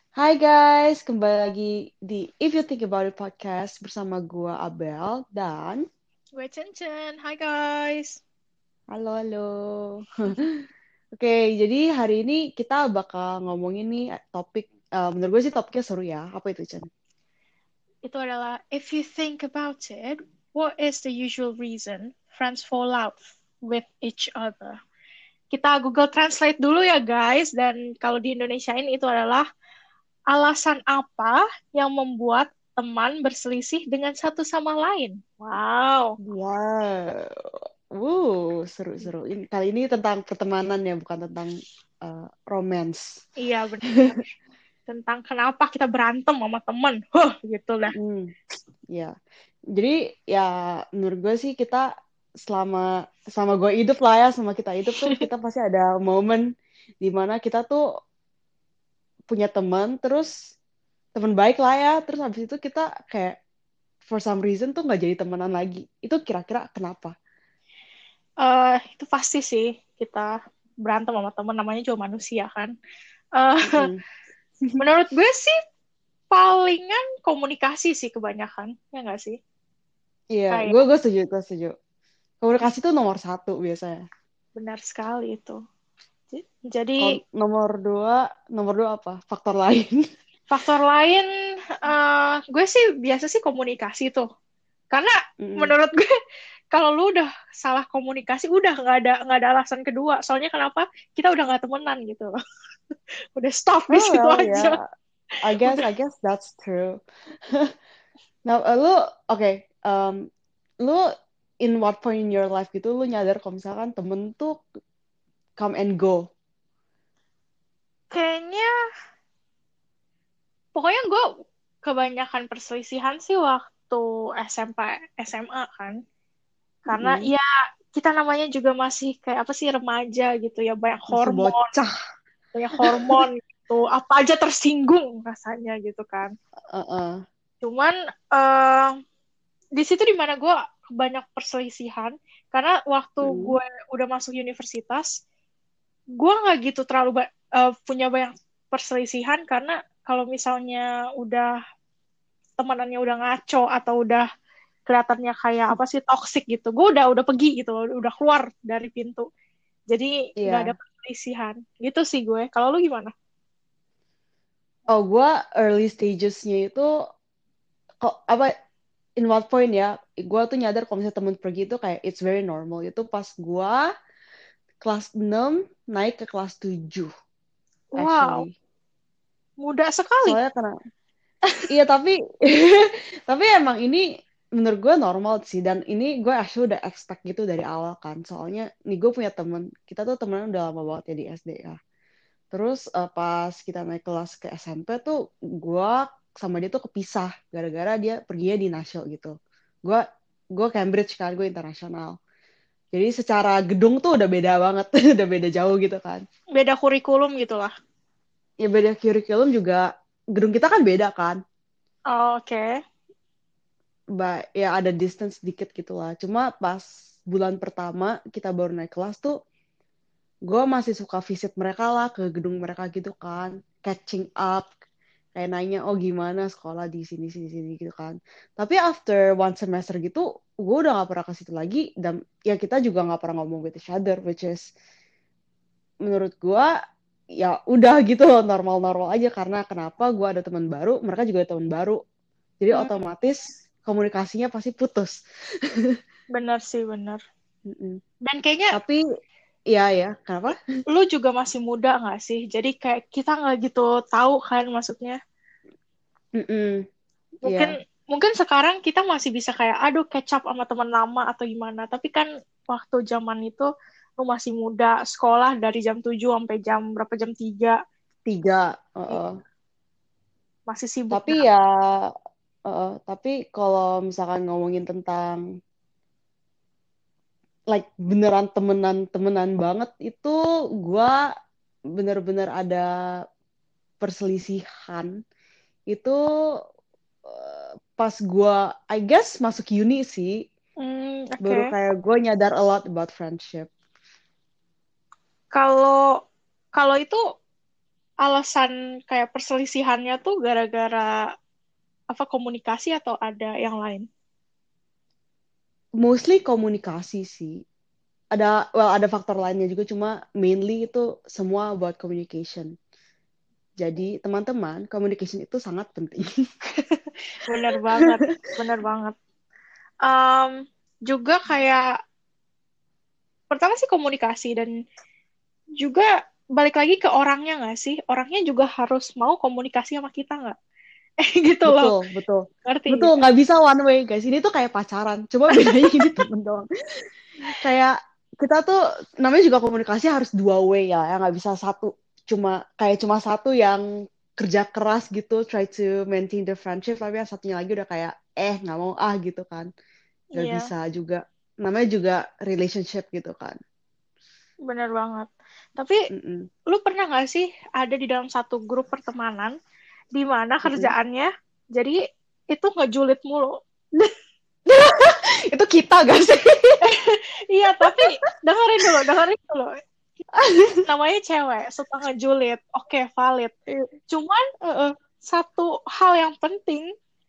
Hai guys, kembali lagi di If You Think About It podcast bersama gua Abel dan Gue Chen. Hai guys. halo halo. Oke, jadi hari ini kita bakal ngomongin nih topik, menurut gue sih topiknya seru ya. Apa itu, Chen? Itu adalah if you think about it, what is the usual reason friends fall out with each other? Kita Google Translate dulu ya guys. Dan kalau di Indonesia ini itu adalah alasan apa yang membuat teman berselisih dengan satu sama lain. Wow. Wow, seru-seru. Kali ini tentang pertemanan ya, bukan tentang romance. Iya benar. Tentang kenapa kita berantem sama temen. Gitu lah. Hmm, ya. Jadi ya menurut gue sih kita selama selama gue hidup lah ya, sama kita hidup tuh kita pasti ada momen di mana kita tuh punya teman, terus teman baik lah ya, terus habis itu kita kayak for some reason tuh nggak jadi temenan lagi. Itu kira-kira kenapa? Itu pasti sih kita berantem sama temen, namanya juga manusia kan. Eh, Mm-mm. Menurut gue sih palingan komunikasi sih kebanyakan, ya nggak sih? Iya, gue Kayak gue setuju, gue setuju. Komunikasi tuh nomor satu biasanya. benar sekali itu. Jadi Kalau nomor dua apa? Faktor lain. faktor lain, gue sih biasa sih komunikasi tuh. Karena Mm-mm. menurut gue kalau lu udah salah komunikasi, udah nggak ada alasan kedua. Soalnya kenapa? Kita udah nggak temenan gitu loh. Udah stop di Oh situ well, aja. ya, Udah. I guess that's true. Nah, lu oke, lu in what point in your life gitu lu nyadar kalau misalkan temen tuh come and go. Kayaknya pokoknya gue kebanyakan perselisihan sih waktu SMP SMA kan. Karena Mm-mm. ya kita namanya juga masih kayak apa sih remaja gitu ya, Masih bocah. banyak hormon gitu, apa aja tersinggung rasanya gitu kan. Uh-uh. Cuman eh, di situ dimana gue banyak perselisihan karena waktu Mm. gue udah masuk universitas, gue nggak gitu terlalu punya banyak perselisihan karena kalau misalnya udah temanannya udah ngaco atau udah kelihatannya kayak apa sih toxic gitu, gue udah pergi gitu, udah keluar dari pintu. Jadi nggak ada Iya. perselisihan gitu sih gue. Kalau lu gimana? Oh, gue early stages-nya itu kok apa in what point ya? Gue tuh nyadar kalau misalnya temen pergi itu kayak it's very normal. Itu pas gue kelas 6 naik ke kelas 7 Wow, actually. muda sekali. Soalnya karena iya tapi tapi emang ini menurut gue normal sih, dan ini gue actually udah expect gitu dari awal kan. Soalnya nih gue punya temen, kita tuh temenan udah lama banget ya di SD ya. Terus pas kita naik kelas ke SMP tuh gue sama dia tuh kepisah gara-gara dia perginya di nasional gitu. Gue gue Cambridge kan, gue internasional. Jadi secara gedung tuh udah beda banget, udah beda jauh gitu kan. Beda kurikulum gitu lah. Ya beda kurikulum juga, gedung kita kan beda kan. Oke. Ya ada distance sedikit gitu lah. Cuma pas bulan pertama kita baru naik kelas tuh, gue masih suka visit mereka lah ke gedung mereka gitu kan, catching up, kayak nanya oh gimana sekolah di sini sini sini gitu kan. Tapi after one semester gitu gue udah gak pernah ke situ lagi, dan ya kita juga gak pernah ngomong with each other, which is menurut gue ya udah gitu loh, normal-normal aja. Karena kenapa, gue ada teman baru, mereka juga ada teman baru, jadi Hmm, otomatis komunikasinya pasti putus. bener sih bener. Mm-mm. Dan kayaknya Tapi ya ya kenapa. lu juga masih muda nggak sih? Jadi kayak kita nggak gitu tahu kan maksudnya. Mm-mm. Mungkin Iya. mungkin sekarang kita masih bisa kayak aduh catch up sama teman lama atau gimana. Tapi kan waktu zaman itu lu masih muda, sekolah dari jam 7 sampai jam berapa jam 3 Tiga. masih sibuk Tapi dah. ya, tapi kalau misalkan ngomongin tentang like beneran temenan temenan banget itu, gue bener-bener ada perselisihan itu pas gue I guess masuk uni sih, baru Oke. kayak gue nyadar a lot about friendship. Kalau kalau itu alasan kayak perselisihannya tuh gara-gara apa komunikasi atau ada yang lain? Mostly komunikasi sih. Ada faktor lainnya juga, cuma mainly itu semua buat communication. Jadi teman-teman, communication itu sangat penting. Bener banget, bener banget. Em, Juga kayak pertama sih komunikasi dan juga balik lagi ke orangnya nggak sih? Orangnya juga harus mau komunikasi sama kita nggak? Gitu loh, Betul, betul. ngerti Betul, nggak? nggak bisa one way, guys. Ini tuh kayak pacaran. Cuma bedanya ini temen doang. Kayak kita tuh namanya juga komunikasi harus dua way ya, yang nggak bisa satu. Cuma satu yang kerja keras gitu, try to maintain the friendship, tapi yang satunya lagi udah kayak, nggak mau gitu kan. Nggak Iya, bisa juga. Namanya juga relationship gitu kan. bener banget. Tapi Mm-mm. lu pernah nggak sih ada di dalam satu grup pertemanan di mana Mm-mm. kerjaannya jadi itu ngejulit mulu? Itu kita gak sih? Iya, tapi dengerin dulu, dengerin dulu. Namanya cewek, suka ngejulit. Oke, valid. Cuman Heeh. satu hal yang penting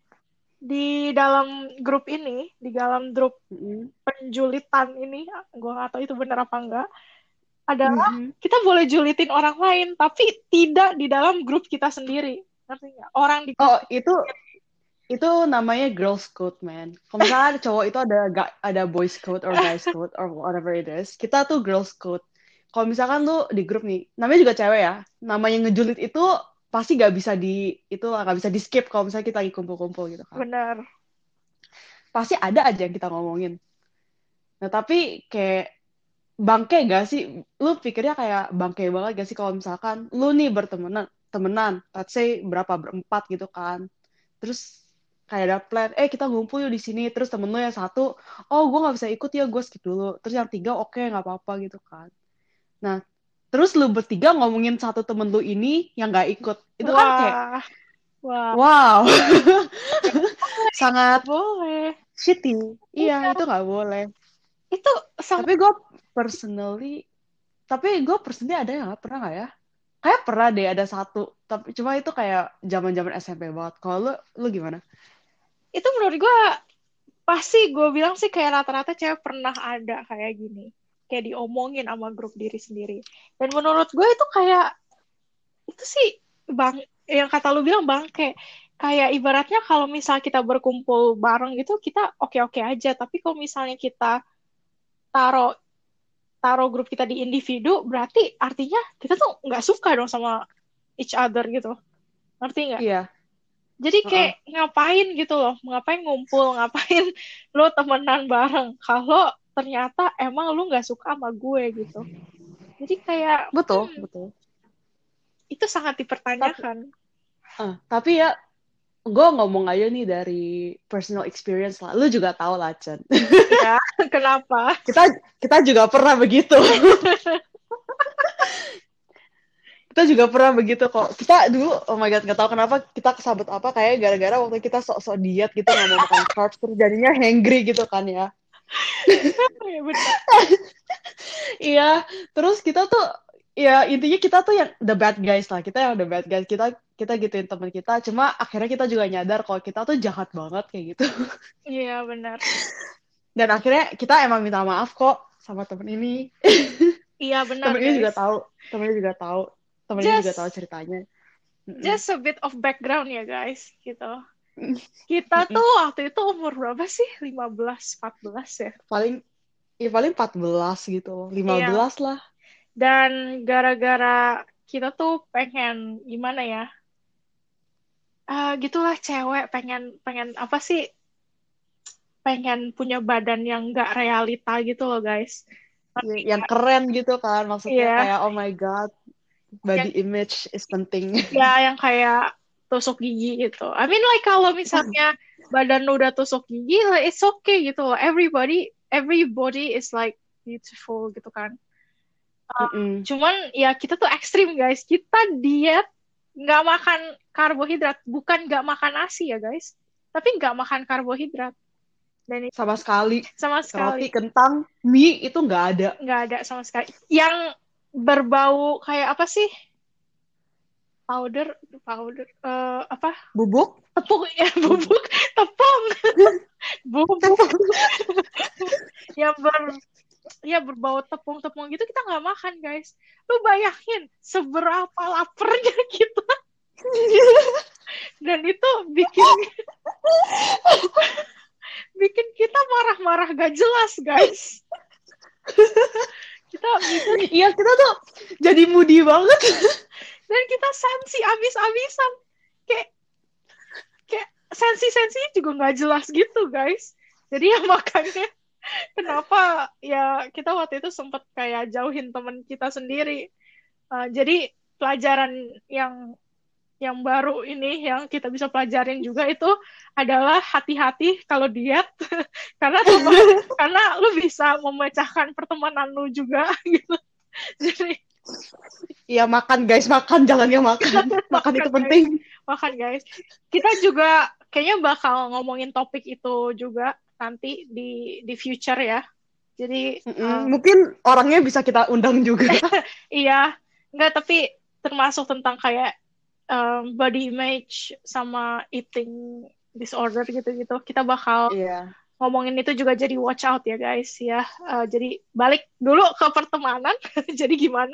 di dalam grup ini, di dalam grup Mm-mm. penjulitan ini, gue nggak tahu itu benar apa enggak, adalah Mhm. kita boleh julitin orang lain, tapi tidak di dalam grup kita sendiri. Ngerti nggak? Orang di grup Oh, kita sendiri. itu namanya girls code, man. Kalau misalnya ada cowok itu ada boys code or guys code or whatever it is. Kita tuh girls code. Kalau misalkan tuh di grup nih, namanya juga cewek ya. Namanya ngejulit itu pasti gak bisa di skip kalau misalnya kita lagi kumpul-kumpul gitu kan. Benar. Pasti ada aja yang kita ngomongin. Nah, tapi kayak bangke gak sih? Lu pikirnya kayak bangke banget gak sih kalau misalkan lu nih temenan, let's say berempat gitu kan. Terus kayak ada plan, kita ngumpul yuk di sini. Terus temen lu yang satu, oh gue nggak bisa ikut ya, gue skip dulu. Terus yang tiga, oke nggak apa-apa gitu kan. Nah, terus lu bertiga ngomongin satu temen lu ini yang nggak ikut. Itu kan kayak, Wah, wah, wow, nggak boleh, nggak sangat boleh. shitty. Iya, Iya, itu nggak boleh. itu sangat Tapi gue personally, personally ada yang nggak pernah nggak ya? Kayak pernah deh ada satu, tapi cuma itu kayak zaman-zaman SMP banget. Kalau lu gimana? itu menurut gue pasti gue bilang sih kayak rata-rata cewek pernah ada kayak gini kayak diomongin sama grup diri sendiri dan menurut gue itu kayak itu sih bang yang kata lu bilang bang kayak ibaratnya kalau misal kita berkumpul bareng gitu kita oke-oke aja tapi kalau misalnya kita taruh taruh grup kita di individu berarti artinya kita tuh nggak suka dong sama each other gitu ngerti nggak? Iya. Jadi kayak Heeh. ngapain gitu loh, ngapain ngumpul, ngapain lo temenan bareng. Kalau ternyata emang lu nggak suka sama gue gitu. Jadi kayak Betul, betul. itu sangat Tapi, dipertanyakan. tapi ya, gue ngomong aja nih dari personal experience lah. Lu juga tahu lah, Chen. Ya, kenapa? Kita kita juga pernah begitu. Kita juga pernah begitu kok. Kita dulu, oh my god, nggak tahu kenapa kita kesabut apa, kayak gara-gara waktu kita sok-sok diet gitu, nggak mau makan carbs, terus jadinya hangry gitu kan ya. Ya, benar. Iya, terus kita tuh, ya intinya kita tuh yang the bad guys lah. Kita yang the bad guys. Kita gituin teman kita. Cuma akhirnya kita juga nyadar kalau kita tuh jahat banget kayak gitu. Iya, benar. Dan akhirnya kita emang minta maaf kok sama temen ini. Iya, benar, Temen ini juga guys. tahu. Temen ini juga tahu. Temen ini juga tahu Just ceritanya. Mm-mm. just a bit of background ya, guys, gitu. Kita Mm-mm. tuh waktu itu umur berapa sih? 15, 14 ya. Paling paling 14 gitu. lima Iya, belas lah. dan gara-gara kita tuh pengen gimana ya? Gitulah cewek pengen pengen apa sih pengen punya badan yang nggak realita gitu loh guys. Ya, Ngerti yang nggak? keren gitu kan. Maksudnya Iya, kayak, oh my God, body yang image is penting. ya yang kayak tusuk gigi gitu. I mean like kalau misalnya badan lu udah tusuk gigi, like it's okay gitu loh. Everybody is like beautiful gitu kan. Mm-mm. Cuman ya kita tuh ekstrim guys. Kita diet nggak makan karbohidrat, bukan nggak makan nasi ya guys, tapi nggak makan karbohidrat. Dan itu Sama sekali. sama sekali Roti, kentang, mie itu nggak ada. nggak ada sama sekali. Yang berbau kayak apa sih? powder apa Bubuk? tepung ya bubuk tepung bubuk yang berbau tepung-tepung gitu kita nggak makan guys. Lu bayangin seberapa laparnya kita dan itu bikin bikin kita marah-marah gak jelas guys. Kita bisa Iya, kita tuh jadi moody banget. dan kita sensi abis-abisan kayak sensi-sensinya juga nggak jelas gitu guys. Jadi ya makanya kenapa ya kita waktu itu sempat kayak jauhin teman kita sendiri. Jadi pelajaran yang baru ini yang kita bisa pelajarin juga itu adalah hati-hati kalau diet karena lu bisa memecahkan pertemanan lu juga gitu. Jadi Iya, makan guys, makan, jangan yang makan. Makan itu guys. penting. Makan guys. Kita juga kayaknya bakal ngomongin topik itu juga nanti di future ya. Jadi mungkin orangnya bisa kita undang juga. iya, enggak tapi termasuk tentang kayak body image sama eating disorder gitu-gitu. Kita bakal ngomongin itu juga, jadi watch out ya guys ya. Jadi balik dulu ke pertemanan. Jadi gimana?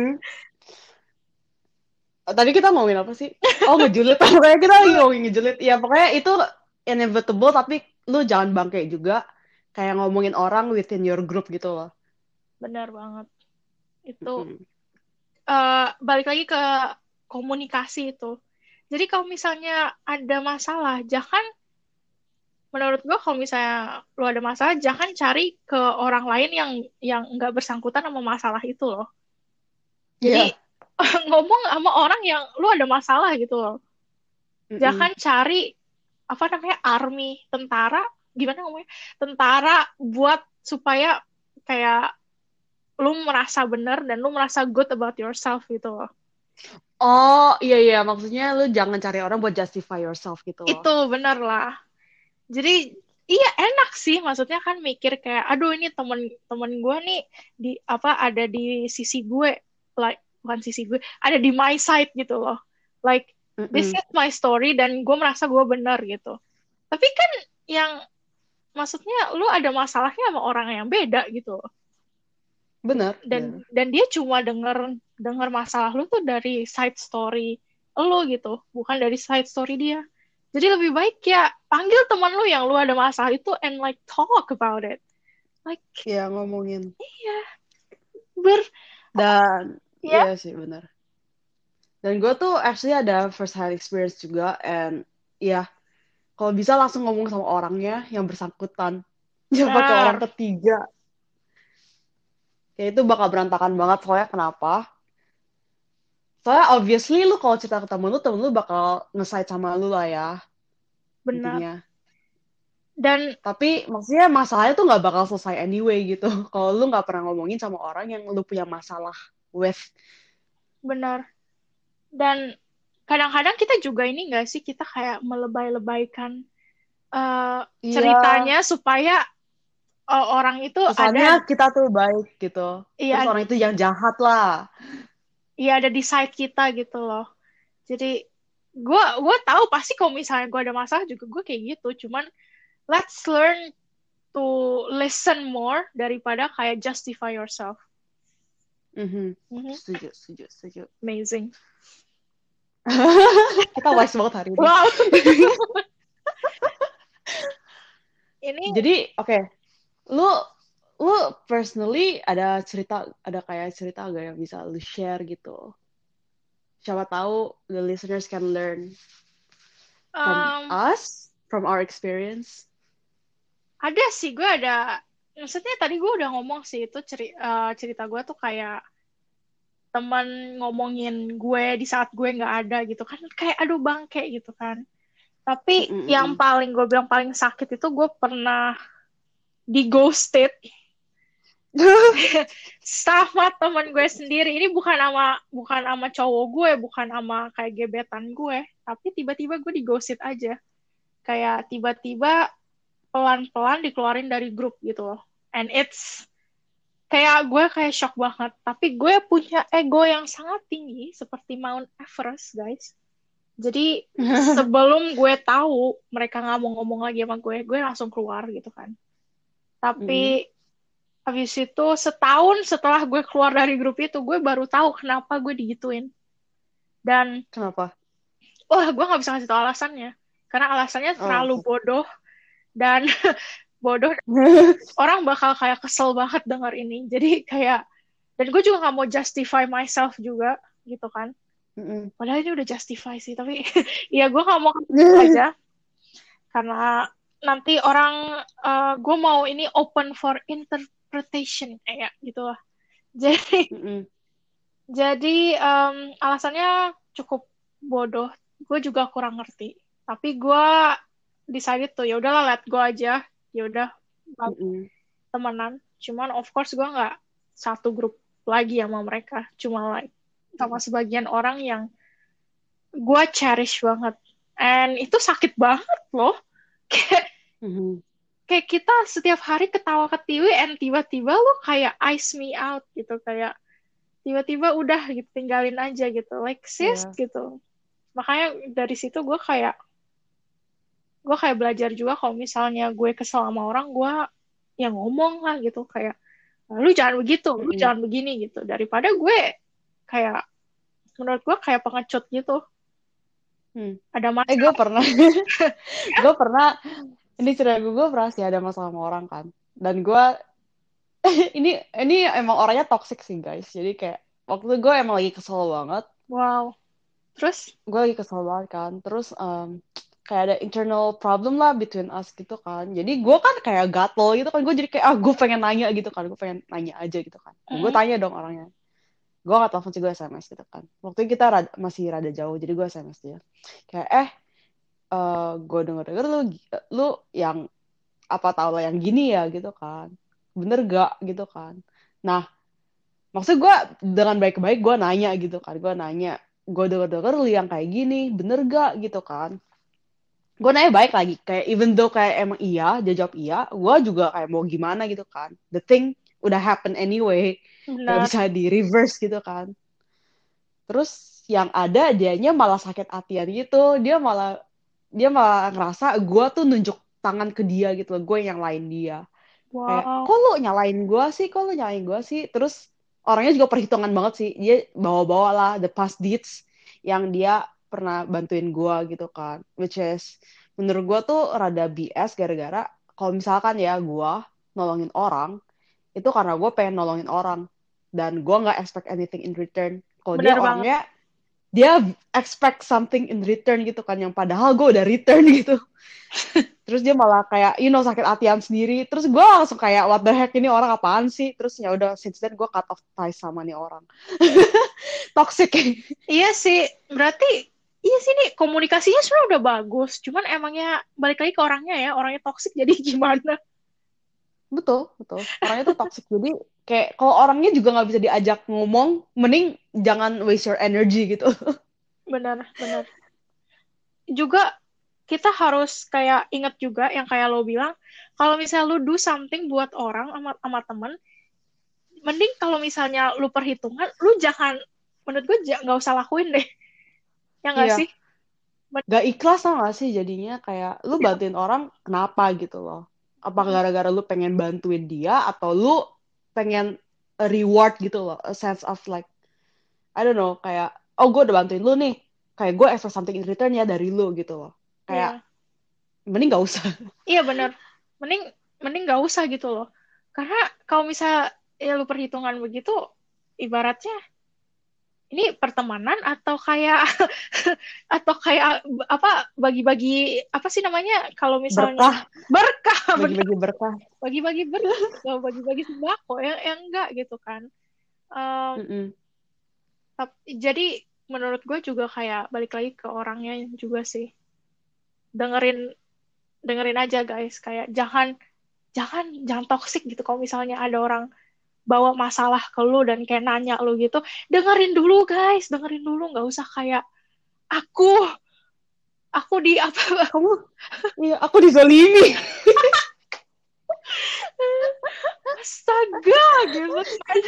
Tadi kita ngomongin apa sih? Oh, ngejulit. Pokoknya kita lagi ngomongin ngejulit. Ya, pokoknya itu inevitable, tapi lu jangan bangke juga. Kayak ngomongin orang within your group gitu loh. Benar banget. Itu balik lagi ke komunikasi itu. Jadi kalau misalnya ada masalah, menurut gue kalau misalnya lu ada masalah, jangan cari ke orang lain yang nggak bersangkutan sama masalah itu loh. Jadi ngomong sama orang yang lu ada masalah gitu loh. Jangan cari apa namanya army, tentara, gimana ngomongnya? Tentara buat supaya kayak lu merasa benar dan lu merasa good about yourself gitu loh. Oh, iya, maksudnya lu jangan cari orang buat justify yourself gitu loh. Itu benar lah. Jadi iya enak sih, maksudnya kan mikir kayak aduh ini temen gue nih ada di sisi gue, like bukan sisi gue, ada di my side gitu loh. Like this is my story dan gue merasa gue benar gitu. Tapi kan yang maksudnya lu ada masalahnya sama orang yang beda gitu loh. Benar. Dan dia cuma denger masalah lu tuh dari side story lu gitu, bukan dari side story dia. Jadi lebih baik ya panggil teman lu yang lu ada masalah itu and like talk about it. Like ngomongin. Iya. Dan iya sih benar. Dan gue tuh actually ada first hand experience juga, and kalau bisa langsung ngomong sama orangnya yang bersangkutan. Jangan pakai orang ketiga. Kayak itu bakal berantakan banget. Soalnya kenapa? Soalnya obviously lu kalau cerita ke temen lu bakal nge-side sama lu lah ya. Benar. Intinya. Dan tapi maksudnya masalahnya tuh nggak bakal selesai anyway gitu. Kalau lu nggak pernah ngomongin sama orang yang lu punya masalah with. Benar. Dan kadang-kadang kita juga ini nggak sih, kita kayak melebay-lebaykan ceritanya supaya orang itu kesannya kita tuh baik gitu. Terus orang itu yang jahat lah. Iya, ada di side kita gitu loh. Jadi gue tahu pasti kalau misalnya gue ada masalah juga gue kayak gitu. Cuman let's learn to listen more daripada kayak justify yourself. Setuju. Amazing. Kita wise banget hari ini. Wow. Jadi oke. Lu personally ada kayak cerita gak yang bisa lu share gitu? Siapa tahu the listeners can learn from us, from our experience. Ada sih, maksudnya tadi gue udah ngomong sih itu cerita gue tuh kayak teman ngomongin gue di saat gue nggak ada gitu kan, kayak aduh bangke gitu kan. Tapi yang paling gue bilang paling sakit itu gue pernah di ghosted sama teman gue sendiri. Ini bukan sama cowok gue, bukan sama kayak gebetan gue, tapi tiba-tiba gue di ghosted aja, kayak tiba-tiba pelan-pelan dikeluarin dari grup gitu loh. And it's kayak gue kayak shock banget. Tapi gue punya ego yang sangat tinggi seperti Mount Everest, guys. Jadi sebelum gue tahu mereka nggak mau ngomong lagi sama gue langsung keluar gitu kan. Mm-mm. Tapi habis itu setahun setelah gue keluar dari grup itu, gue baru tahu kenapa gue digituin. Dan Kenapa? wah, gue nggak bisa ngasih tahu alasannya. Karena alasannya Oh. terlalu bodoh dan bodoh. Orang bakal kayak kesel banget denger ini. Jadi kayak, dan gue juga nggak mau justify myself juga gitu kan. Mm-mm. Padahal ini udah justify sih, tapi ya gue nggak mau kasih aja. Karena nanti orang, gue mau ini open for interpretation kayak gitu lah. Jadi, Mm-mm. alasannya cukup bodoh. Gue juga kurang ngerti. Tapi gue decided tuh ya udahlah let go aja. Ya udah Mm-mm. temenan. Cuman of course gue nggak satu grup lagi sama mereka. Cuma like sama sebagian orang yang gue cherish banget. And itu sakit banget loh. Kayak Mm-mm. kayak kita setiap hari ketawa ketiwi and tiba-tiba lo kayak ice me out gitu, kayak tiba-tiba udah gitu tinggalin aja gitu, like sis Iya. gitu. Makanya dari situ gue kayak belajar juga kalau misalnya gue kesel sama orang, gue ya ngomong lah gitu, kayak lu jangan begitu, lu Mm-mm. jangan begini gitu, daripada gue kayak, menurut gue kayak pengecut gitu, Hmm. ada Gue masalah. pernah, gue pernah, ini cerita gue pernah sih ada masalah sama orang kan. Dan gue, ini emang orangnya toxic sih guys. Jadi kayak, waktu itu gue emang lagi kesel banget. Wow. Terus Gue lagi kesel banget kan. Terus, kayak ada internal problem lah between us gitu kan. Jadi gue kan kayak gatel gitu kan. Gue jadi kayak, gue pengen nanya gitu kan. Gue pengen nanya aja gitu kan. Dan gue tanya dong orangnya. Gue gak telepon sih, gue SMS gitu kan. Waktu itu kita masih rada jauh. Jadi gue SMS dia. Kayak, gue denger lu yang apa tau lah yang gini ya gitu kan, bener gak gitu kan. Nah, maksud gue dengan baik-baik gue nanya gitu kan, gue denger lu yang kayak gini bener gak gitu kan. Gue nanya baik lagi, kayak even though kayak emang iya, dia jawab iya, gue juga kayak mau gimana gitu kan, the thing udah happen anyway, gak benar. bisa di reverse gitu kan. Terus yang ada dianya malah sakit hatian gitu, dia malah ngerasa gue tuh nunjuk tangan ke dia gitu loh, gue yang nyalain dia. Kayak, Wow. kok lu nyalain gue sih? Terus orangnya juga perhitungan banget sih. Dia bawa-bawa lah the past deeds yang dia pernah bantuin gue gitu kan. Which is, menurut gue tuh rada BS gara-gara kalau misalkan ya gue nolongin orang, itu karena gue pengen nolongin orang. Dan gue nggak expect anything in return. Kalau dia Benar banget. orangnya, dia expect something in return gitu kan, yang padahal gue udah return gitu. Terus dia malah kayak sakit hatian sendiri. Terus gue langsung kayak what the heck, ini orang apaan sih. Terus ya udah since then gue cut off ties sama nih orang. Toxic. Iya sih, berarti iya sih nih komunikasinya sebenarnya udah bagus, cuman emangnya balik lagi ke orangnya ya, orangnya toksik jadi gimana? Betul, betul, orangnya tuh toxic. Jadi kayak kalau orangnya juga nggak bisa diajak ngomong, mending jangan waste your energy gitu. Benar, benar. Juga kita harus kayak ingat juga yang kayak lo bilang, kalau misalnya lo do something buat orang sama temen, mending kalau misalnya lo perhitungan, lo jangan, menurut gue nggak usah lakuin deh, ya nggak Iya, sih? gak ikhlas tau gak sih jadinya, kayak lu Iya. bantuin orang kenapa gitu loh. Apa Mm, gara-gara lu pengen bantuin dia, atau lu pengen a reward gitu loh, a sense of like, I don't know, kayak, oh gue udah bantuin lu nih, kayak gue expect something in return ya dari lu gitu loh. Kayak, iya, mending gak usah. iya benar. Mending mending nggak usah gitu loh. Karena kalau misalnya ya lu perhitungan begitu, ibaratnya ini pertemanan atau kayak atau kayak apa, bagi-bagi apa sih namanya kalau misalnya Berkah, berkah. Bener, bagi-bagi berkah. bagi-bagi berkah, nggak bagi-bagi sembako yang enggak gitu kan. Em, Mm-mm. jadi menurut gue juga kayak balik lagi ke orangnya juga sih, dengerin dengerin aja guys, kayak jangan jangan jangan toksik gitu. Kalau misalnya ada orang bawa masalah ke lu dan kayak nanya lu gitu, dengerin dulu guys, dengerin dulu, nggak usah kayak aku aku di apa. Kamu, iya, aku dizolimi. Astaga, give that's fine.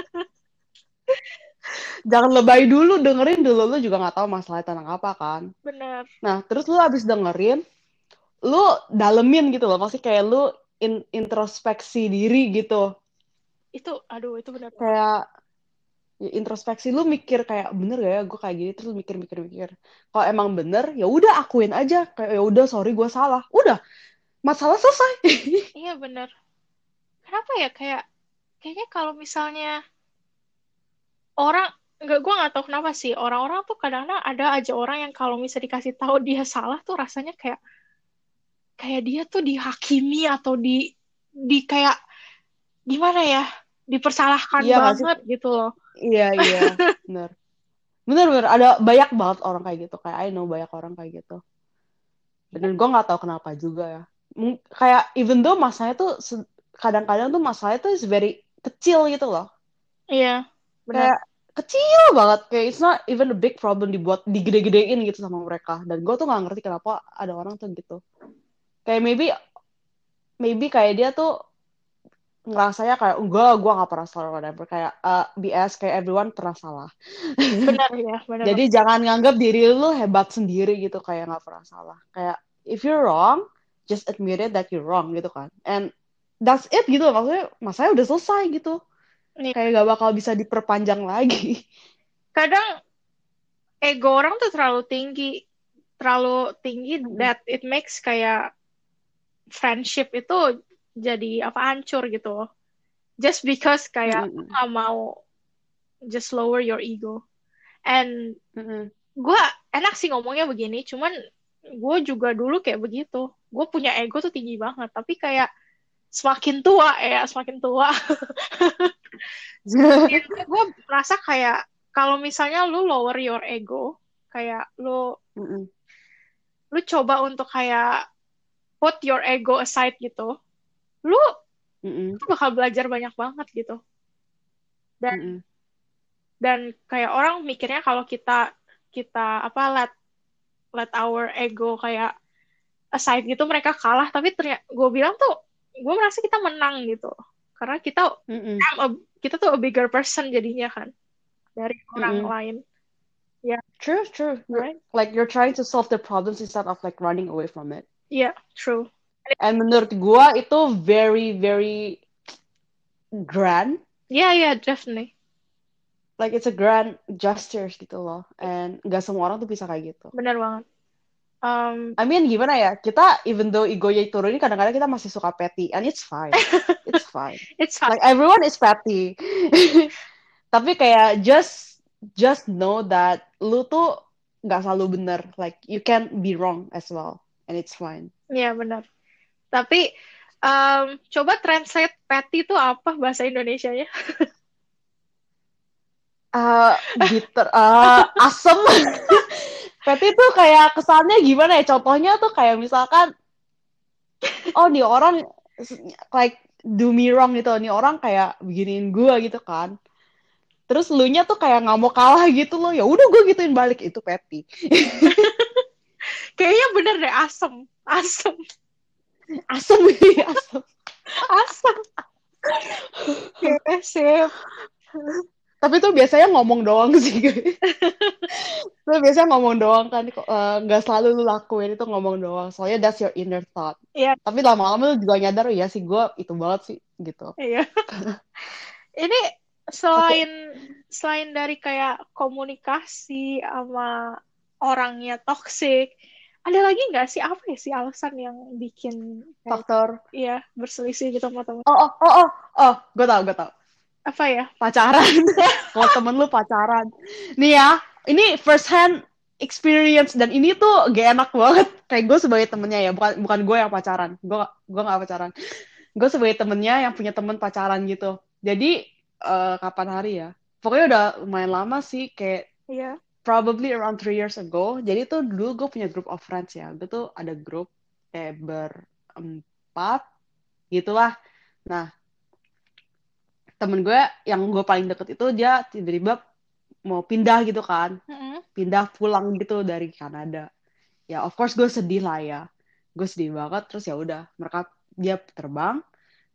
Jangan lebay dulu, dengerin dulu, lu juga nggak tahu masalahnya tentang apa kan. Bener. Nah, terus lu abis dengerin, lu dalemin gitu loh, maksudnya kayak lu introspeksi diri gitu. Itu, aduh, itu bener banget. Kayak ya, introspeksi, lu mikir kayak bener gak ya gue kayak gini, terus lu mikir. Kalau emang bener, ya udah akuin aja, kayak ya udah sorry gue salah, udah masalah selesai. Iya bener. Kenapa ya kayaknya kalau misalnya orang gue nggak tahu kenapa sih orang-orang tuh kadang-kadang ada aja orang yang kalau misalnya dikasih tahu dia salah tuh rasanya kayak kayak dia tuh dihakimi atau di kayak gimana ya dipersalahkan Iya nggak sih? banget gitu loh. Iya, bener. Bener, ada banyak banget orang kayak gitu, kayak I know banyak orang kayak gitu. Dan gue nggak tahu kenapa juga ya. Kayak even though masanya tuh kadang-kadang tuh masalahnya tuh is very kecil gitu loh. Iya benar. Kayak kecil banget, kayak it's not even a big problem dibuat digede-gedein gitu sama mereka. Dan gue tuh nggak ngerti kenapa ada orang tuh gitu. Kayak maybe kayak dia tuh ngerasanya kayak gue nggak pernah salah, whatever, kayak BS, kayak everyone pernah salah. Benar ya, benar Jadi banget. jangan nganggap diri lu hebat sendiri gitu, kayak nggak pernah salah. Kayak if you're wrong, just admit it that you're wrong gitu kan. And that's it gitu, maksudnya udah selesai gitu. Nih, Kayak gak bakal bisa diperpanjang lagi. kadang ego orang tuh terlalu tinggi Mm-mm. that it makes kayak friendship itu jadi apa hancur gitu loh. Just because kayak lu Mm-mm. gak mau just lower your ego. And Mm-mm. gue enak sih ngomongnya begini, cuman gue juga dulu kayak begitu. Gue punya ego tuh tinggi banget, tapi kayak semakin tua, gue merasa kayak kalau misalnya lu lower your ego, kayak Mm-mm. lu coba untuk kayak put your ego aside gitu, lu Mm-mm. tuh bakal belajar banyak banget gitu. Dan Mm-mm. dan kayak orang mikirnya kalau kita kita apa let our ego kayak aside gitu mereka kalah, tapi ternyata gue bilang tuh gue merasa kita menang gitu karena Mm-mm. kita tuh a bigger person jadinya kan dari orang Mm-mm. lain ya. True. Right. You're trying to solve the problems instead of like running away from it. Yeah, true. And menurut gua itu very very grand. Yeah, definitely. Like it's a grand gestures gitu loh. And gak semua orang tuh bisa kayak gitu. Bener banget. I mean gimana ya, kita even though egonya turunin, kadang-kadang kita masih suka petty, and it's fine. It's fine. It's fine. Like everyone is petty. Tapi kayak just know that lu tuh nggak selalu bener. Like you can be wrong as well, and it's fine. Ya, bener. Tapi coba translate petty itu apa bahasa Indonesianya? Bitter, asem. Petty tuh kayak kesannya gimana ya? Contohnya tuh kayak misalkan, oh nih orang like do me wrong gitu, nih orang kayak beginiin gue gitu kan. Terus lu nya tuh kayak nggak mau kalah gitu loh, ya udah gue gituin balik, itu petty. Kayaknya bener deh, asem. Asem. Asem. Asem. Asem. Oke, sip. Tapi tuh biasanya ngomong doang sih. Tuh biasanya ngomong doang kan, nggak selalu lu lakuin, itu ngomong doang. Soalnya that's your inner thought. Iya, Tapi lama-lama lu juga nyadar, ya sih gue itu banget sih gitu. iya. Ini Oke. selain dari kayak komunikasi sama orangnya toxic, ada lagi nggak sih apa ya sih alasan yang bikin kayak Faktor. ya berselisih gitu sama teman? Oh, gue tau. Apa ya? Pacaran. Kalau temen lu pacaran. Nih ya, ini first hand experience, dan ini tuh gak enak banget. Kayak gue sebagai temennya ya, bukan gue yang pacaran. Gue gak pacaran. Gue sebagai temennya yang punya temen pacaran gitu. Jadi kapan hari ya? Pokoknya udah lumayan lama sih, kayak Iya. probably around 3 years ago. Jadi tuh dulu gue punya group of friends ya. Gue tuh ada grup kayak berempat gitulah. Nah, temen gue yang gue paling deket itu dia tiba-tiba mau pindah gitu kan. Mm-mm. Pindah pulang gitu dari Kanada. Ya of course gue sedih lah ya. Gue sedih banget, terus ya udah, dia terbang.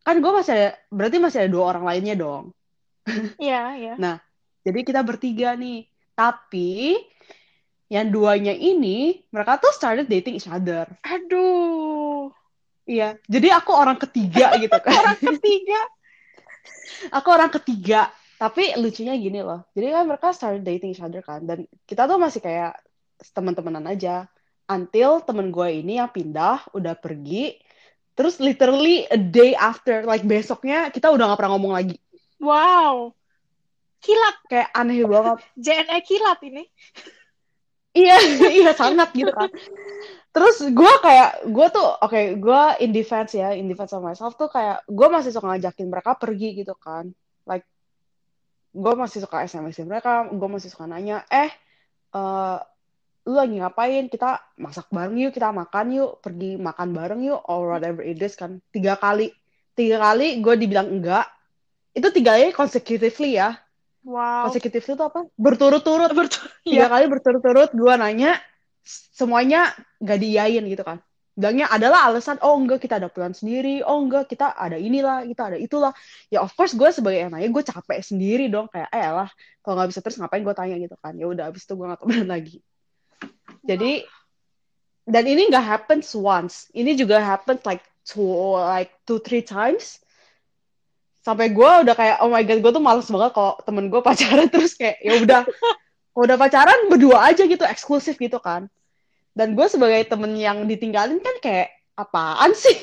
kan gue masih ada, berarti masih ada 2 orang lainnya dong. Iya, iya. Nah, jadi kita bertiga nih. Tapi yang duanya ini mereka tuh started dating each other. Aduh, Iya, jadi aku orang ketiga gitu kan. orang ketiga. Aku orang ketiga. Tapi lucunya gini loh. Jadi kan mereka started dating each other kan. Dan kita tuh masih kayak teman-temanan aja. Until temen gue ini yang pindah, udah pergi. Terus literally a day after, like besoknya kita udah gak pernah ngomong lagi. Wow, kilat. Kayak aneh banget. JNE kilat ini. Iya, iya sangat gitu kan. Terus gue tuh, oke, gue in defense of myself tuh kayak, gue masih suka ngajakin mereka pergi gitu kan. Like, gue masih suka SMS-in mereka, gue masih suka nanya, eh, lu lagi ngapain? Kita masak bareng yuk, kita makan yuk, pergi makan bareng yuk, or whatever it is kan. 3 kali gue dibilang enggak. Itu 3 kali consecutively ya. Wow. Consecutively itu apa? Berturut-turut. Betul. 3 kali berturut-turut gue nanya, semuanya gak diiyain gitu kan. Bilangnya adalah alasan, oh enggak kita ada plan sendiri, oh enggak kita ada inilah, kita ada itulah. Ya of course gue sebagai yang nanya, gue capek sendiri dong. Kayak lah, kalau gak bisa terus ngapain gue tanya gitu kan. Ya udah abis itu gue gak temenan lagi. Jadi, dan ini gak happens once. Ini juga happens like 2-3 times. Sampai gue udah kayak, oh my god, gue tuh males banget kalau temen gue pacaran terus kayak, ya udah, kalau udah pacaran berdua aja gitu, eksklusif gitu kan. Dan gue sebagai temen yang ditinggalin kan kayak, apaan sih?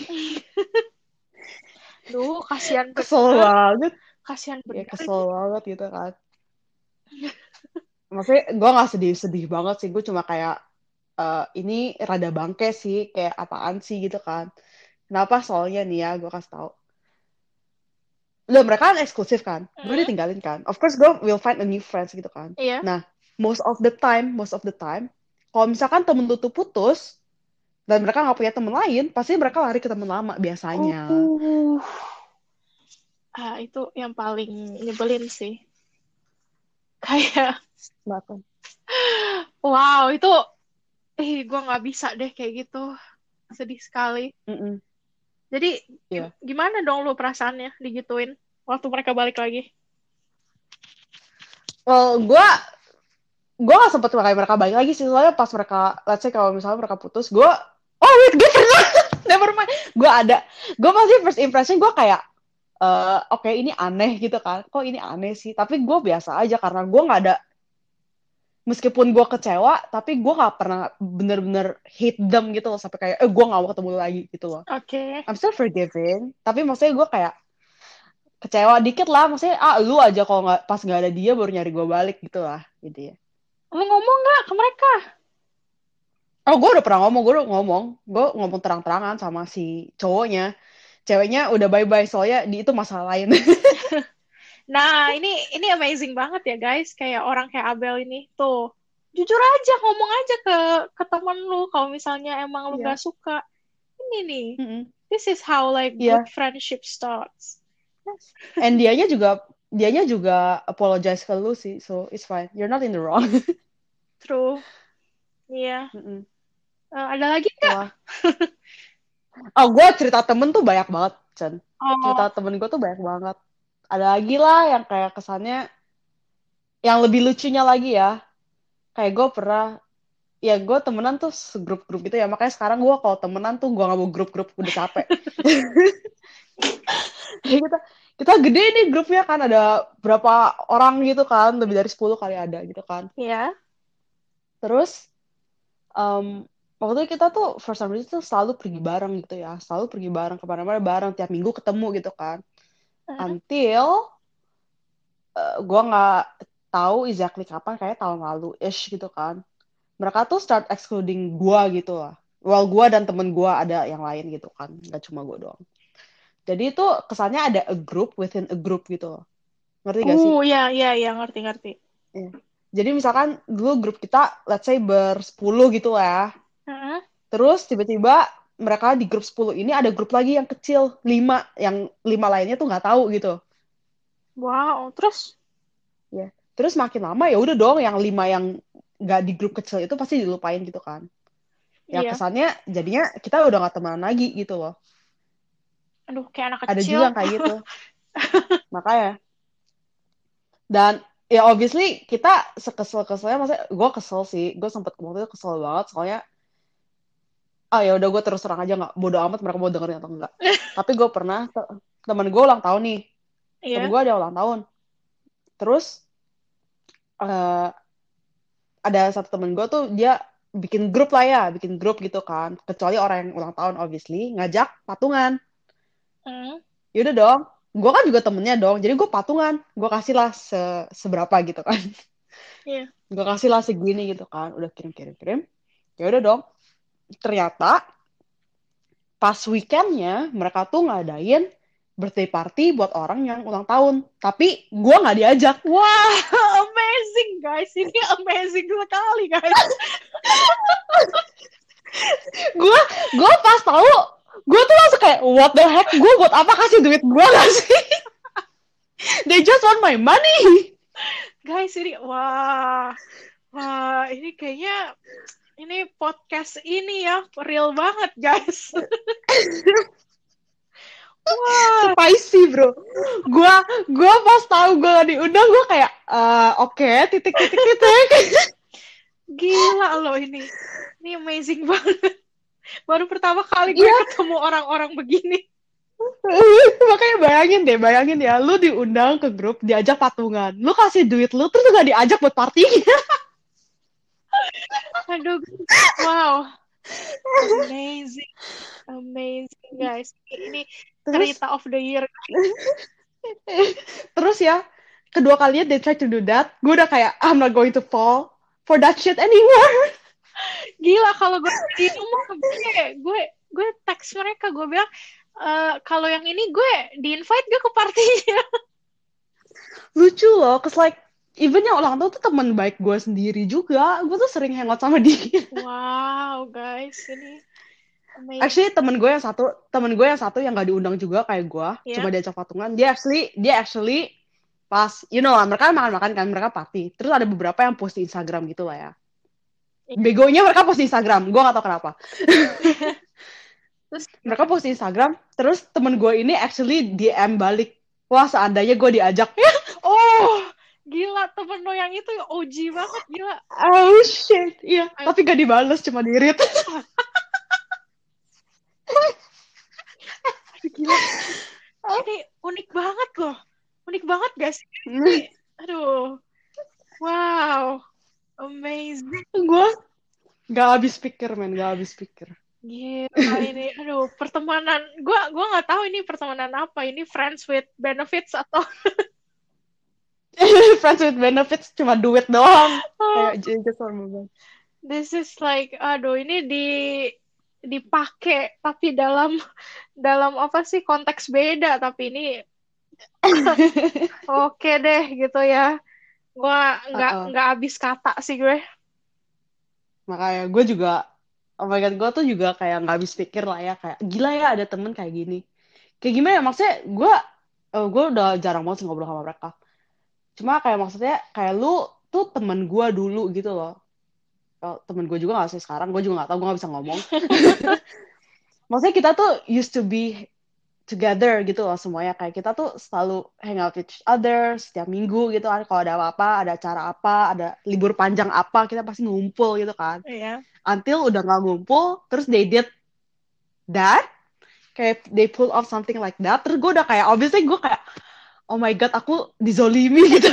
Duh, kasihan Kesel bener. banget. Kasihan Ya bener. kesel banget gitu kan. Maksudnya gue gak sedih-sedih banget sih. Gue cuma kayak, ini rada bangke sih. Kayak apaan sih gitu kan. Kenapa? Soalnya nih ya, gue kasih tau. Loh, mereka kan eksklusif kan. Gue Mm, ditinggalin kan. Of course gue will find a new friends gitu kan. iya. Nah, most of the time, kalau misalkan temen lu tuh putus, dan mereka gak punya temen lain, pasti mereka lari ke temen lama biasanya. Itu yang paling nyebelin sih. Kayak, Kenapa? wow, itu, gue nggak bisa deh kayak gitu. Sedih sekali. Mm-mm. Jadi, Iya. gimana dong lu perasaannya digituin waktu mereka balik lagi? Well, gue gak sempet pakai mereka balik lagi sih. Soalnya pas mereka, let's say kalau misalnya mereka putus, oh wait, gue pernah. Never mind. Gue masih first impression gue kayak, oke, ini aneh gitu kan. Kok ini aneh sih? Tapi gue biasa aja karena gue gak ada, meskipun gue kecewa, tapi gue gak pernah bener-bener hate them gitu loh. Sampai kayak, gue gak mau ketemu lagi gitu loh. Oke. I'm still forgiving. Tapi maksudnya gue kayak, kecewa dikit lah. Maksudnya, lu aja kalau nggak pas gak ada dia baru nyari gue balik gitu lah. Gitu ya. Lu ngomong nggak ke mereka? Oh, gue ngomong terang-terangan sama si cowoknya. Ceweknya udah bye-bye, soalnya di itu masalah lain. Nah, ini amazing banget ya guys. Kayak orang kayak Abel ini tuh. Jujur aja, ngomong aja ke temen lu kalau misalnya emang lu Iya. nggak suka. Ini nih. Mm-mm. This is how like good Iya. friendship starts. Yes. And dianya juga apologize ke lu sih, so it's fine. You're not in the wrong. True. Iya. Mm-mm. Ada lagi nggak? Itulah. Oh, gue cerita temen tuh banyak banget, Chen. Oh, Cerita temen gue tuh banyak banget. Ada lagi lah yang kayak kesannya, yang lebih lucunya lagi ya. Kayak gue pernah, ya gue temenan tuh segrup-grup gitu ya. Makanya sekarang gue kalau temenan tuh gue gak mau grup-grup, udah capek. kita kita gede nih grupnya kan, ada berapa orang gitu kan, lebih dari 10 kali ada gitu kan. ya. Terus waktu itu kita tuh for some reason tuh selalu pergi bareng gitu ya, selalu pergi bareng kemana-mana bareng, tiap minggu ketemu gitu kan. Hmm. Until gue nggak tahu exactly kapan, kayak tahun lalu ish gitu kan, mereka tuh start excluding gue gitu lah. Well, gue dan temen gue ada yang lain gitu kan, nggak cuma gue doang. Jadi itu kesannya ada a group within a group gitu loh. Ngerti gak sih? Ya, ngerti. Iya. Jadi misalkan dulu grup kita, let's say bersepuluh gitu lah ya. Heeh. Terus tiba-tiba mereka di grup 10 ini ada grup lagi yang kecil, 5. Yang 5 lainnya tuh nggak tahu gitu. Wow, terus? Ya. Terus makin lama ya udah dong, yang 5 yang nggak di grup kecil itu pasti dilupain gitu kan. Ya Iya. kesannya jadinya kita udah nggak temenan lagi gitu loh. Aduh, kayak anak Ada kecil. juga yang kayak gitu. Makanya. Dan ya obviously kita sekesel-keselnya, maksudnya gue kesel sih. Gue sempet waktu itu kesel banget soalnya ya udah gue terus terang aja nggak bodo amat mereka mau dengerin atau enggak. Tapi gue pernah temen gue ulang tahun nih. Temen Iya. gue ada ulang tahun. Terus eh, ada satu temen gue tuh dia bikin grup lah ya, bikin grup gitu kan. Kecuali orang yang ulang tahun obviously ngajak patungan. Hmm. Yaudah dong, gue kan juga temennya dong. Jadi gue patungan, gue kasih lah seberapa gitu kan. Iya. Gue kasih lah segini gitu kan. Udah kirim. Ya udah dong. Ternyata pas weekendnya mereka tuh ngadain birthday party buat orang yang ulang tahun. Tapi gue nggak diajak. Wah, amazing guys. Ini amazing sekali guys. gue pas tahu gue tuh langsung kayak what the heck, gue buat apa kasih duit gue gak sih? They just want my money. Guys, ini wah, ini kayaknya ini podcast ini ya real banget guys. Wah, Spicy bro. Gue pas tahu gue gak diundang gue kayak oke, titik. gila loh ini. Ini amazing banget. Baru pertama kali gue ketemu orang-orang begini. Makanya bayangin ya, lu diundang ke grup, diajak patungan, lu kasih duit lu terus gak diajak buat partinya. Aduh, wow, amazing guys. Ini cerita of the year. Terus ya, kedua kalinya they try to do that, gue udah kayak I'm not going to fall for that shit anymore. Gila, kalau gue di rumah gue teks mereka, gue bilang kalau yang ini gue di invite gak ke partinya. Lucu loh, cause like even yang ulang tahun tuh teman baik gue sendiri juga, gue tuh sering hangout sama dia. Wow guys, ini amazing. Actually temen gue yang satu yang gak diundang juga kayak gue, cuma diajak patungan. Dia actually pas, you know lah, mereka makan kan, mereka party. Terus ada beberapa yang post di Instagram gitu lah ya. Begonya mereka post di Instagram, gue gak tau kenapa. Terus mereka post di Instagram, terus temen gue ini actually DM balik, wah seandainya gue diajak. Oh, gila, temen lo yang itu OG banget, gila. Oh shit, iya. Tapi gak dibales, cuma di-read. Gila. Ini unik banget loh. Unik banget gak sih? Aduh. Wow. Amazing. Gue gak habis pikir, Gila ini. Aduh, pertemanan. Gue gak tahu ini pertemanan apa. Ini friends with benefits atau... Friends with benefits cuma duit doang. Kayak just This is like, aduh, ini dipakai tapi dalam apa sih, konteks beda, tapi ini oke deh gitu ya. Gue nggak habis kata sih gue. Makanya gue juga, oh my god, gue tuh juga kayak nggak habis pikir lah ya, kayak gila ya ada temen kayak gini. Kayak gimana ya, maksudnya gue udah jarang banget ngobrol sama mereka. Cuma kayak maksudnya kayak lu tuh temen gue dulu gitu loh. Temen gue juga gak sih sekarang, gue juga gak tahu, gue gak bisa ngomong. Maksudnya kita tuh used to be together gitu loh semuanya, kayak kita tuh selalu hang out with each other setiap minggu gitu kan, kalau ada apa-apa, ada acara apa, ada libur panjang apa, kita pasti ngumpul gitu kan. Iya. Until udah gak ngumpul, terus they did that, kayak they pull off something like that, terus gue udah kayak, obviously gue kayak, oh my god, aku dizolimi gitu.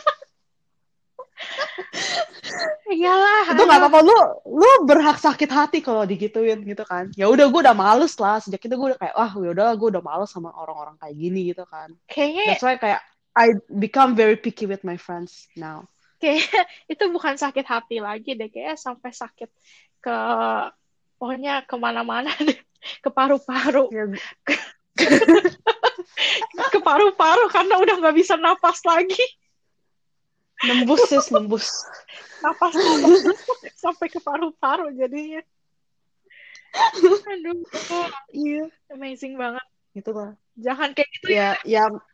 Iyalah. Itu nggak apa-apa, lu berhak sakit hati kalau digituin gitu kan. Ya udah, gue udah males lah sejak itu, gue udah kayak ya udah, gue udah males sama orang-orang kayak gini gitu kan. Kayaknya that's why kayak I become very picky with my friends now. Kayak itu bukan sakit hati lagi deh, kayak sampai sakit ke pokoknya kemana-mana deh, ke paru-paru. Ke paru-paru karena udah nggak bisa napas lagi. Nembus napas sampai ke paru-paru jadinya. Aduh, iya, amazing banget. gitu lah. Jangan kayak gitu ya.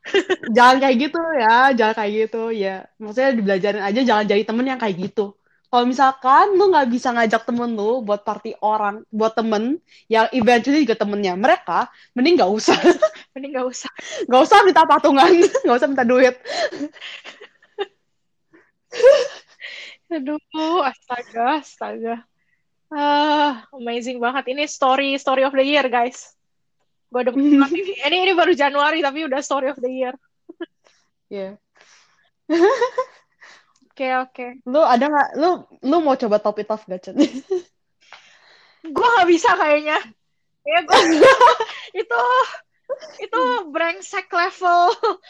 Jangan kayak gitu ya, Maksudnya dibelajarin aja, jangan jadi temen yang kayak gitu. Kalau misalkan lu nggak bisa ngajak temen lu buat party orang, buat temen yang eventually juga temennya mereka, mending nggak usah. Mending nggak usah. Nggak usah minta patungan, nggak usah minta duit. Aduh, astaga, astaga. Amazing banget. Ini story of the year, guys. Gue demen banget ini. Ini baru Januari tapi udah story of the year. Iya. Oke. Lu ada nggak? Lu mau coba top it off gak, Cen? Gue nggak bisa kayaknya. Ya gue itu brengsek level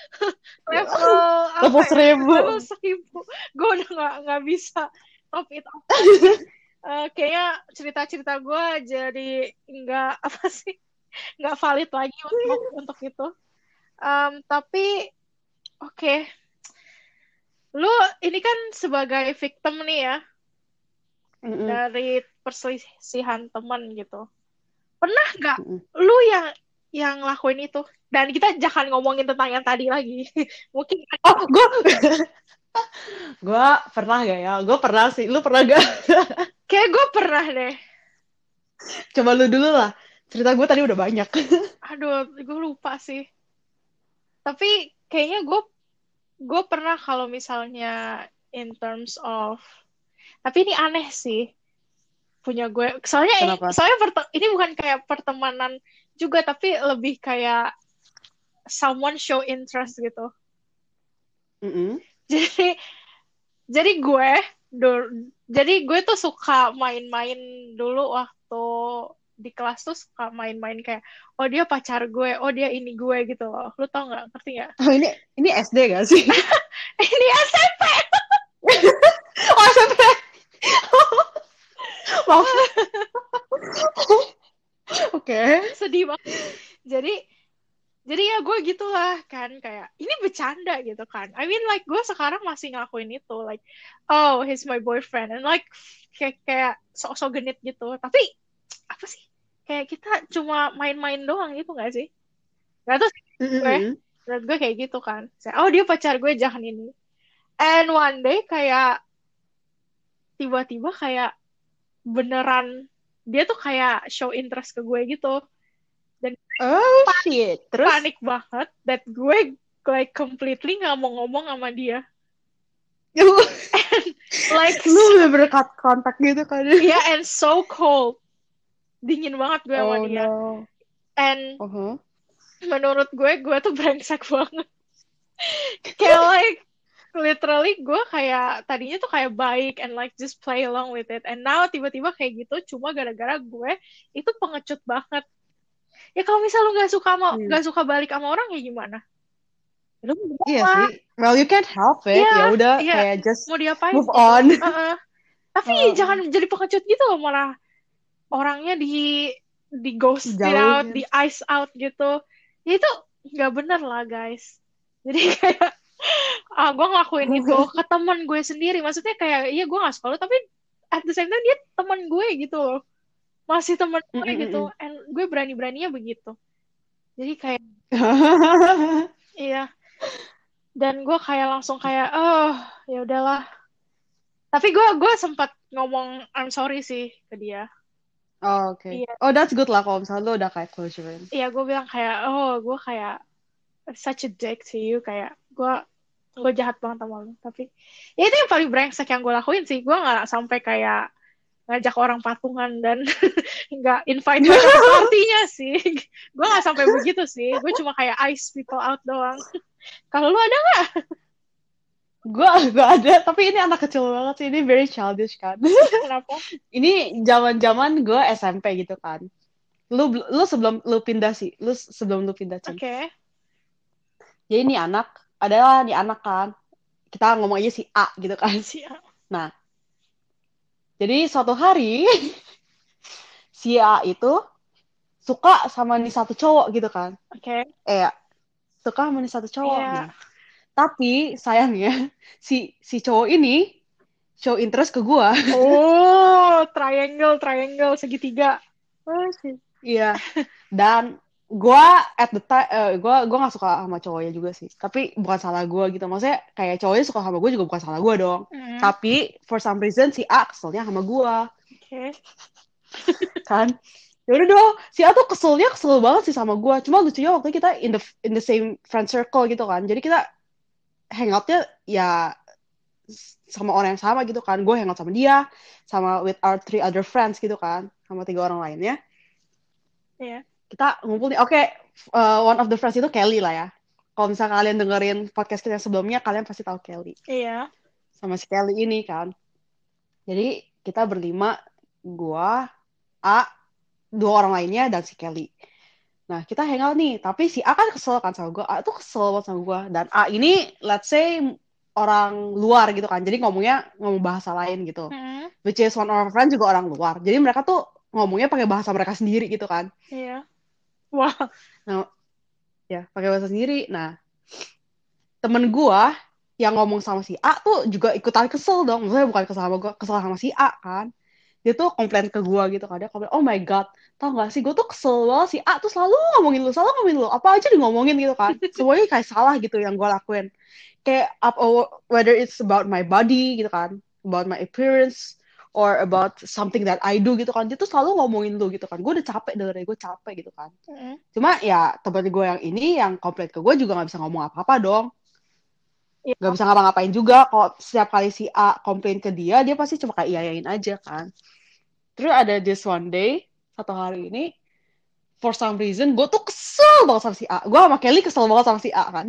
Level apa ya? 1000. Level 1000. Gue udah nggak bisa top it off. Kayaknya cerita-cerita gue jadi nggak apa sih, nggak valid lagi untuk itu. Tapi oke. Lu ini kan sebagai victim nih ya dari perselisihan teman gitu. Pernah nggak lu yang lakuin itu? Dan kita jangan ngomongin tentang yang tadi lagi. Mungkin gue pernah gak ya? Gue pernah sih. Lu pernah gak? Kayak gue pernah deh. Coba lu dulu lah. Cerita gue tadi udah banyak. Aduh, gue lupa sih. Tapi kayaknya gue pernah kalau misalnya in terms of, tapi ini aneh sih punya gue. Soalnya ini bukan kayak pertemanan juga, tapi lebih kayak someone show interest gitu. Jadi gue tuh suka main-main dulu waktu di kelas tuh, suka main-main kayak, oh dia pacar gue, oh dia ini gue gitu loh. Lu tau nggak? Ngerti nggak? Oh, ini SD gak sih? Ini SMP. Oh, SMP. Maaf. Oke. Sedih banget. Jadi ya gue gitulah kan, kayak ini bercanda gitu kan. I mean like gue sekarang masih ngelakuin itu, like oh he's my boyfriend, and like kayak sok-sok genit gitu. Tapi apa sih, kayak kita cuma main-main doang gitu nggak sih? Gak tuh menurut gue kayak gitu kan. Oh dia pacar gue, jangan ini. And one day kayak tiba-tiba kayak beneran dia tuh kayak show interest ke gue gitu. Dan shit. Terus panik banget that gue like completely nggak mau ngomong sama dia. Like lu bener-bener kontak gitu kan. Yeah, and so cold. Dingin banget gue sama dia. No. And menurut gue tuh brengsek banget. Kayak like literally gue kayak tadinya tuh kayak baik and like just play along with it, and now tiba-tiba kayak gitu cuma gara-gara gue itu pengecut banget. Ya kalau misal lu nggak suka balik sama orang ya gimana? Iya sih. Well, you can't help it. Ya udah kayak just mau diapain, move on. Tapi jangan jadi pengecut gitu loh, malah orangnya di ghost out, di ice out gitu. Ya itu nggak bener lah guys. Jadi kayak gue ngelakuin itu ke teman gue sendiri. Maksudnya kayak iya gue nggak suka lo, tapi at the same time dia teman gue gitu loh. Masih teman gue gitu, and gue berani-beraninya begitu. Jadi kayak iya, dan gue kayak langsung kayak ya udahlah. Tapi gue sempat ngomong I'm sorry sih ke dia. Oh, oke. Okay. Yeah. Oh, that's good lah kalau misalnya lo udah kayak closure. Iya, gue bilang kayak gue kayak such a dick to you, kayak gue jahat banget sama lo. Tapi ya itu yang paling brengsek yang gue lakuin sih. Gue nggak sampai kayak ngajak orang patungan dan nggak invite mereka ke partinya sih. Gue nggak sampai begitu sih. Gue cuma kayak ice people out doang. Kalau lu ada nggak? Gue ada, tapi ini anak kecil banget sih. Ini very childish kan. Kenapa? Ini zaman-zaman gue SMP gitu kan. Lu sebelum lu pindah sih. Sebelum lu pindah. Oke. Okay. Jadi ini anak kan. Kita ngomong aja si A gitu kan. Si A. Nah. Jadi suatu hari si A itu suka sama nih satu cowok gitu kan. Oke. Suka sama nih satu cowok. Yeah. Nah, tapi sayangnya si cowok ini show interest ke gue. Oh, triangle segitiga. Iya. Dan gue at the time gue nggak suka sama cowoknya juga sih, tapi bukan salah gue gitu, maksudnya kayak cowoknya suka sama gue juga bukan salah gue dong, Mm, tapi for some reason si A keselnya sama gue oke. kan. Ya udah dong, si A tuh kesel banget sih sama gue, cuma lucunya waktu kita in the same friend circle gitu kan, jadi kita hangoutnya ya sama orang yang sama gitu kan, gue hangout sama dia sama with our three other friends gitu kan, sama 3 orang lainnya. Iya. Kita ngumpul nih. Oke, one of the friends itu Kelly lah ya. Kalau misalnya kalian dengerin podcast kita yang sebelumnya, kalian pasti tahu Kelly. Iya. Sama si Kelly ini kan. Jadi kita berlima, gua, A, 2 orang lainnya, dan si Kelly. Nah, kita hangout nih. Tapi si A kan kesel kan sama gua. A tuh kesel banget sama gua. Dan A ini, let's say, orang luar gitu kan. Jadi ngomong bahasa lain gitu. Mm, Which is one of our friends juga orang luar. Jadi mereka tuh ngomongnya pakai bahasa mereka sendiri gitu kan. iya. Wah. Nah, ya pakai bahasa sendiri. Nah, temen gua yang ngomong sama si A tuh juga ikutan kesel dong. Maksudnya bukan kesel sama gua, kesel sama si A kan. Dia tuh komplain ke gua gitu kan. Dia komplain, oh my god, tau gak sih, gua tuh kesel banget, si A tuh selalu ngomongin lu. Apa aja di ngomongin gitu kan. Semuanya kayak salah gitu yang gua lakuin. Kayak whether it's about my body gitu kan, about my appearance, or about something that I do gitu kan. Dia tuh selalu ngomongin lu gitu kan. Gue udah capek dengerin, gue capek gitu kan. Mm, Cuma ya temen gue yang ini yang komplain ke gue juga gak bisa ngomong apa-apa dong. Gak iya. bisa ngapa-ngapain juga. Kalau setiap kali si A komplain ke dia pasti cuma kayak iyain aja kan. Terus ada this one day, satu hari ini, for some reason, gue tuh kesel banget sama si A. Gue sama Kelly kesel banget sama si A kan.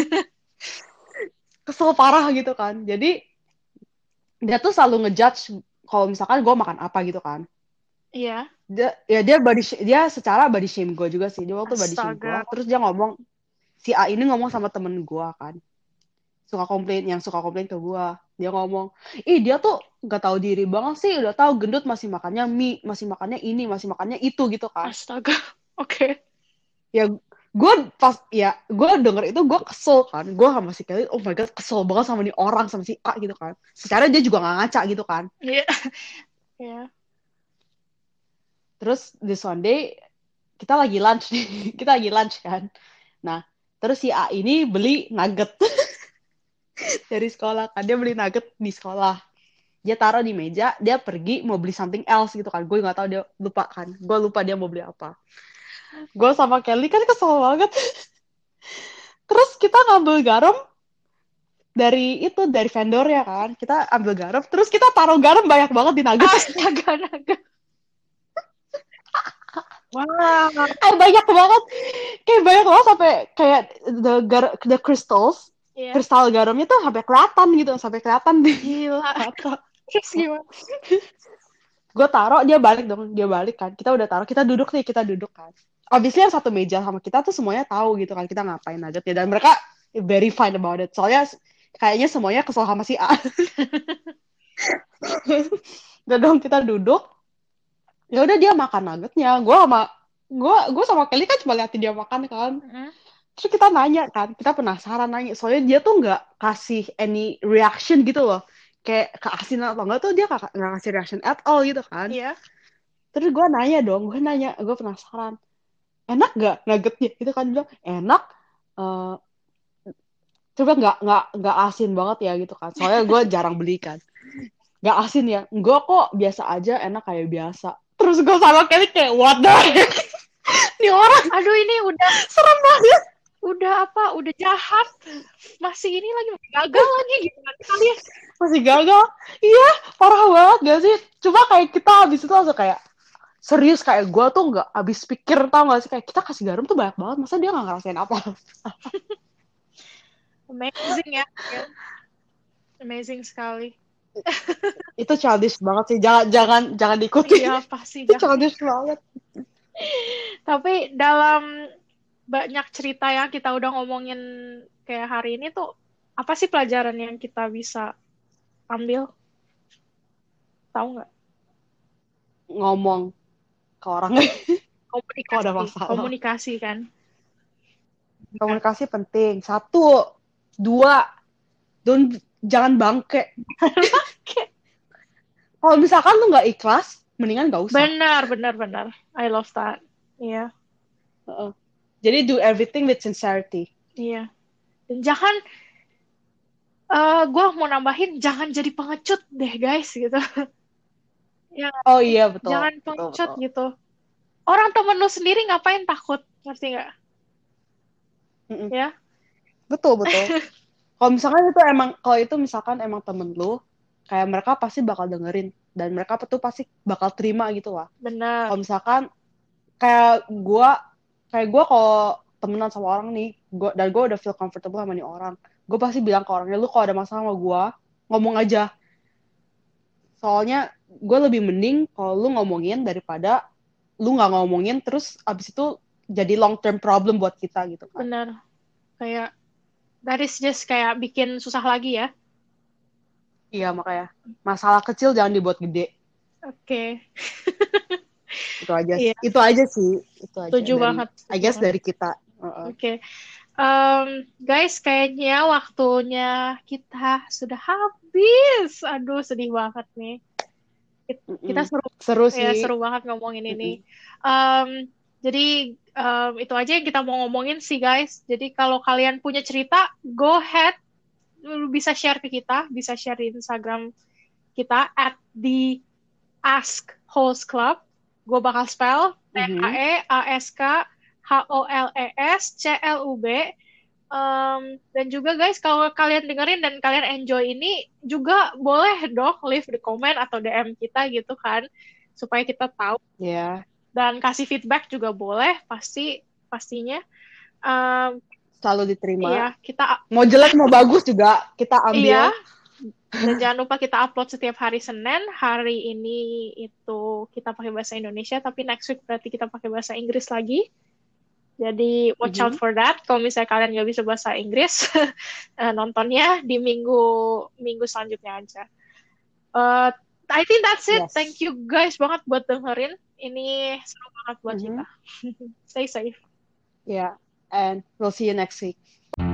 Kesel parah gitu kan. Jadi, dia tuh selalu ngejudge kalau misalkan gue makan apa gitu kan. Iya. Dia secara body shame gue juga sih. Dia waktu body shame gue. Astaga. Terus dia ngomong, si A ini ngomong sama temen gue kan. Suka komplain ke gua, dia ngomong, ih dia tuh nggak tahu diri banget sih, udah tahu gendut masih makannya mie, masih makannya ini, masih makannya itu gitu kan. Astaga. Oke. Ya gue denger itu gue kesel kan, gue sama si Kelly, oh my god, kesel banget sama nih orang, sama si A gitu kan. Secara dia juga nggak ngaca gitu kan. Iya. Iya. Terus this one day kita lagi lunch nih, kita lagi lunch kan. Nah terus si A ini beli nugget dari sekolah kan, dia beli nugget di sekolah, dia taruh di meja, dia pergi mau beli something else gitu kan, gue nggak tahu, dia lupa kan, gue lupa dia mau beli apa. Gue sama Kelly kan kesel banget. Terus kita ngambil garam dari vendor ya kan, kita ambil garam, terus kita taruh garam banyak banget di nugget. Astaga, naga. Wah. Kayak banyak banget sampai kayak the crystals, Iya. kristal garamnya tuh sampai kelihatan di Gila. mata. Terus gimana? Gue taruh, dia balik kan, kita udah taruh, kita duduk kan. Obviously yang satu meja sama kita tuh semuanya tahu gitu kan kita ngapain aja ya, dan mereka very fine about it, soalnya kayaknya semuanya kesel sama si A. Udah dong, kita duduk, ya udah dia makan nuggetnya, gue sama Kelly kan cuma liatin dia makan kan. Mm, Terus kita nanya kan, kita penasaran nanya, soalnya dia tuh nggak kasih any reaction gitu loh, kayak keasinan atau enggak tuh dia nggak kasih reaction at all gitu kan. Iya. Terus gue nanya, gue penasaran, enak gak nuggetnya? Itu kan bilang enak, uh, coba nggak asin banget ya gitu kan. Soalnya gue jarang beli kan, nggak asin ya? Enggak kok, biasa aja, enak kayak biasa. Terus gue sama Kelly kayak what the heck? Ini orang Aduh, ini udah serem banget. udah jahat. Masih ini lagi gagal lagi gimana kalian? Masih gagal. Iya, parah banget gak sih? Coba kayak kita habis itu langsung kayak serius, kayak gue tuh nggak habis pikir, tau gak sih, kayak kita kasih garam tuh banyak banget, masa dia nggak ngerasain apa. Amazing ya. Amazing sekali. Itu childish banget sih, jangan diikuti. Iya, pasti Itu jangan. childish banget. Tapi dalam banyak cerita yang kita udah ngomongin kayak hari ini tuh, apa sih pelajaran yang kita bisa ambil? Tahu nggak? Ngomong ke orang kalau ada masalah. Komunikasi kan. Komunikasi penting. 1, 2, jangan bangke. Kalau misalkan lu nggak ikhlas, mendingan nggak usah. Benar. I love that. Iya. Heeh. Jadi do everything with sincerity. Iya. Dan jangan, gue mau nambahin, jangan jadi pengecut deh guys gitu. Ya nggak Oh sih? iya betul, Jangan betul, pengecut betul. gitu. Orang temen lu sendiri ngapain takut, ngerti nggak? Mm-mm. Ya, Betul, betul. Kalau itu misalkan emang temen lu, kayak mereka pasti bakal dengerin dan mereka tuh pasti bakal terima gitu lah. bener. Kalau misalkan kayak gua kalau temenan sama orang nih, gua udah feel comfortable sama nih orang, gue pasti bilang ke orangnya, lu kalau ada masalah sama gua ngomong aja. Soalnya gue lebih mending kalau lu ngomongin daripada lu nggak ngomongin terus abis itu jadi long term problem buat kita gitu kan. Bener. Kayak, that is just kayak bikin susah lagi ya. Iya, makanya masalah kecil jangan dibuat gede. Oke. Itu aja Iya, itu aja sih, itu aja setuju dari banget, I setuju guess banget. dari kita. Uh-uh. Oke. Guys, kayaknya waktunya kita sudah habis. Aduh, sedih banget nih. Kita Mm-mm. seru, Seru ya sih. seru banget ngomongin ini. Mm-mm. Um, jadi itu aja yang kita mau ngomongin sih guys. Jadi kalau kalian punya cerita, go ahead, lu bisa share ke kita, bisa share di Instagram kita @the Ask Host Club. Gue bakal spell Mhm. TAEASKHOLESCLUB. Dan juga guys, kalau kalian dengerin dan kalian enjoy ini, juga boleh dong leave the comment atau DM kita gitu kan, supaya kita tahu, Ya, dan kasih feedback juga boleh, pastinya. Um, selalu diterima. ya kita, Mau jelek mau bagus juga kita iya. ambil. Dan jangan lupa kita upload setiap hari Senin. Hari ini itu kita pakai bahasa Indonesia, tapi next week berarti kita pakai bahasa Inggris lagi. Jadi watch out Mhm. for that. Kalau misalnya kalian nggak bisa bahasa Inggris, nontonnya di minggu minggu selanjutnya aja. Uh, I think that's it. Thank Yes. you guys banget buat dengerin. Ini seru banget buat kita. Mhm. Stay safe. Yeah. And we'll see you next week.